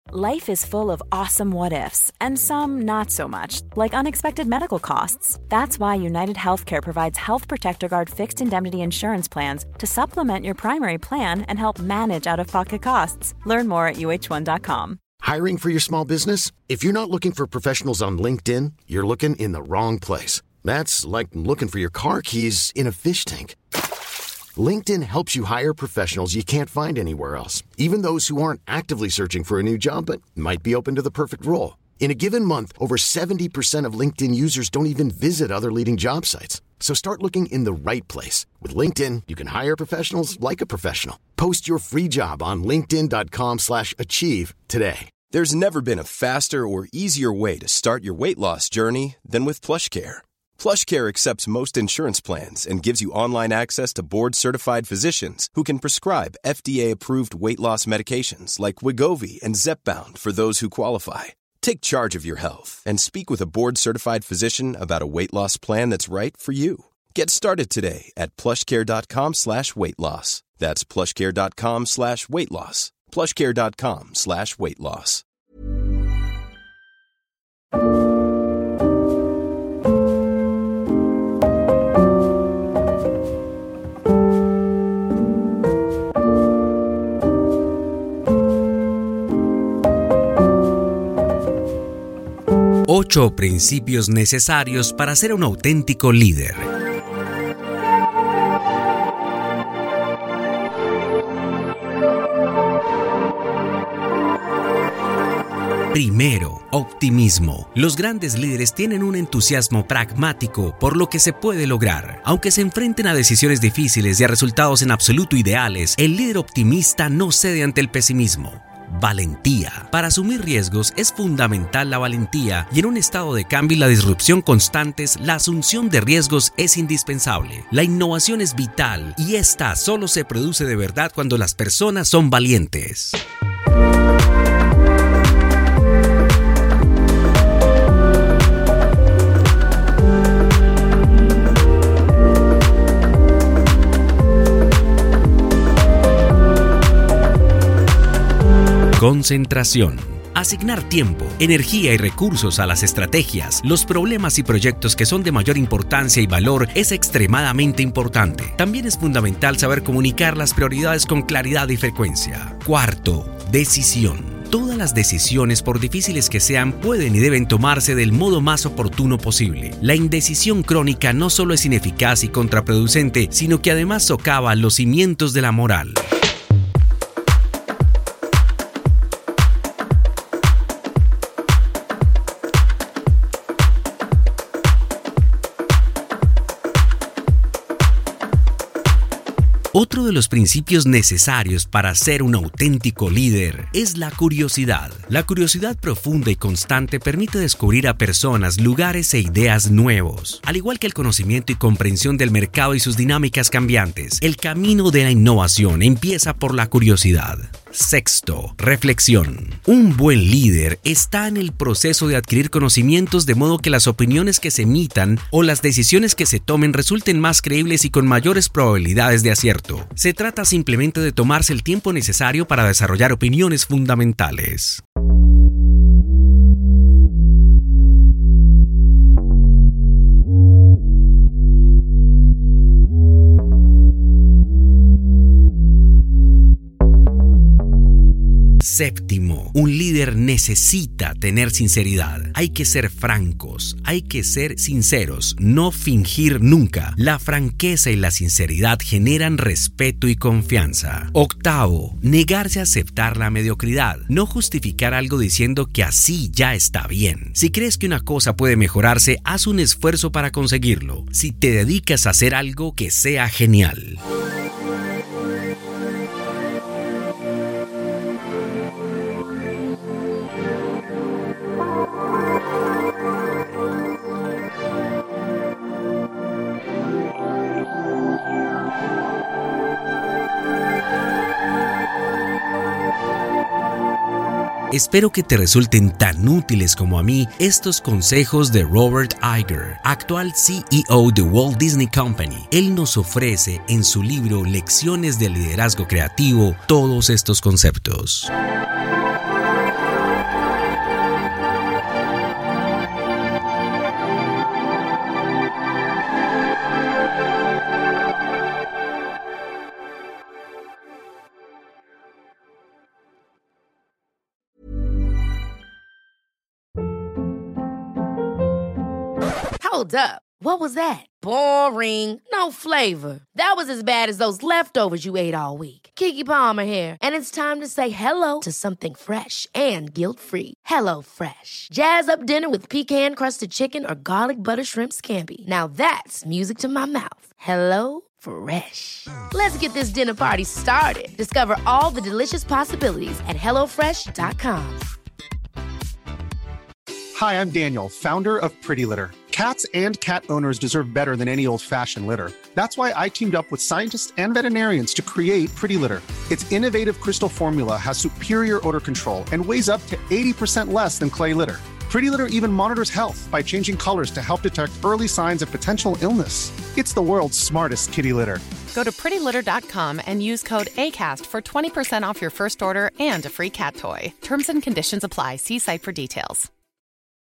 Life is full of awesome what-ifs, and some not so much, like unexpected medical costs. That's why United Healthcare provides Health Protector Guard fixed indemnity insurance plans to supplement your primary plan and help manage out-of-pocket costs. Learn more at uh1.com. Hiring for your small business? If you're not looking for professionals on LinkedIn, you're looking in the wrong place. That's like looking for your car keys in a fish tank. LinkedIn helps you hire professionals you can't find anywhere else, even those who aren't actively searching for a new job but might be open to the perfect role. In a given month, over 70% of LinkedIn users don't even visit other leading job sites. So start looking in the right place. With LinkedIn, you can hire professionals like a professional. Post your free job on linkedin.com/achieve today. There's never been a faster or easier way to start your weight loss journey than with PlushCare. PlushCare accepts most insurance plans and gives you online access to board-certified physicians who can prescribe FDA-approved weight loss medications like Wegovy and Zepbound for those who qualify. Take charge of your health and speak with a board-certified physician about a weight loss plan that's right for you. Get started today at plushcare.com/weight loss. That's plushcare.com/weight loss. plushcare.com/weight loss. Ocho principios necesarios para ser un auténtico líder. Primero, optimismo. Los grandes líderes tienen un entusiasmo pragmático por lo que se puede lograr. Aunque se enfrenten a decisiones difíciles y a resultados en absoluto ideales, el líder optimista no cede ante el pesimismo. Valentía. Para asumir riesgos es fundamental la valentía, y en un estado de cambio y la disrupción constantes, la asunción de riesgos es indispensable. La innovación es vital, y esta solo se produce de verdad cuando las personas son valientes. Concentración. Asignar tiempo, energía y recursos a las estrategias, los problemas y proyectos que son de mayor importancia y valor es extremadamente importante. También es fundamental saber comunicar las prioridades con claridad y frecuencia. Cuarto, decisión. Todas las decisiones, por difíciles que sean, pueden y deben tomarse del modo más oportuno posible. La indecisión crónica no solo es ineficaz y contraproducente, sino que además socava los cimientos de la moral. Otro de los principios necesarios para ser un auténtico líder es la curiosidad. La curiosidad profunda y constante permite descubrir a personas, lugares e ideas nuevos. Al igual que el conocimiento y comprensión del mercado y sus dinámicas cambiantes, el camino de la innovación empieza por la curiosidad. Sexto, reflexión. Un buen líder está en el proceso de adquirir conocimientos de modo que las opiniones que se emitan o las decisiones que se tomen resulten más creíbles y con mayores probabilidades de acierto. Se trata simplemente de tomarse el tiempo necesario para desarrollar opiniones fundamentales. Séptimo, un líder necesita tener sinceridad. Hay que ser francos, hay que ser sinceros, no fingir nunca. La franqueza y la sinceridad generan respeto y confianza. Octavo, negarse a aceptar la mediocridad. No justificar algo diciendo que así ya está bien. Si crees que una cosa puede mejorarse, haz un esfuerzo para conseguirlo. Si te dedicas a hacer algo, que sea genial. Espero que te resulten tan útiles como a mí estos consejos de Robert Iger, actual CEO de Walt Disney Company. Él nos ofrece en su libro Lecciones de Liderazgo Creativo todos estos conceptos. Hold up. What was that? Boring. No flavor. That was as bad as those leftovers you ate all week. Keke Palmer here, and it's time to say hello to something fresh and guilt-free. HelloFresh. Jazz up dinner with pecan-crusted chicken or garlic butter shrimp scampi. Now that's music to my mouth. HelloFresh. Let's get this dinner party started. Discover all the delicious possibilities at HelloFresh.com. Hi, I'm Daniel, founder of Pretty Litter. Cats and cat owners deserve better than any old-fashioned litter. That's why I teamed up with scientists and veterinarians to create Pretty Litter. Its innovative crystal formula has superior odor control and weighs up to 80% less than clay litter. Pretty Litter even monitors health by changing colors to help detect early signs of potential illness. It's the world's smartest kitty litter. Go to prettylitter.com and use code ACAST for 20% off your first order and a free cat toy. Terms and conditions apply. See site for details.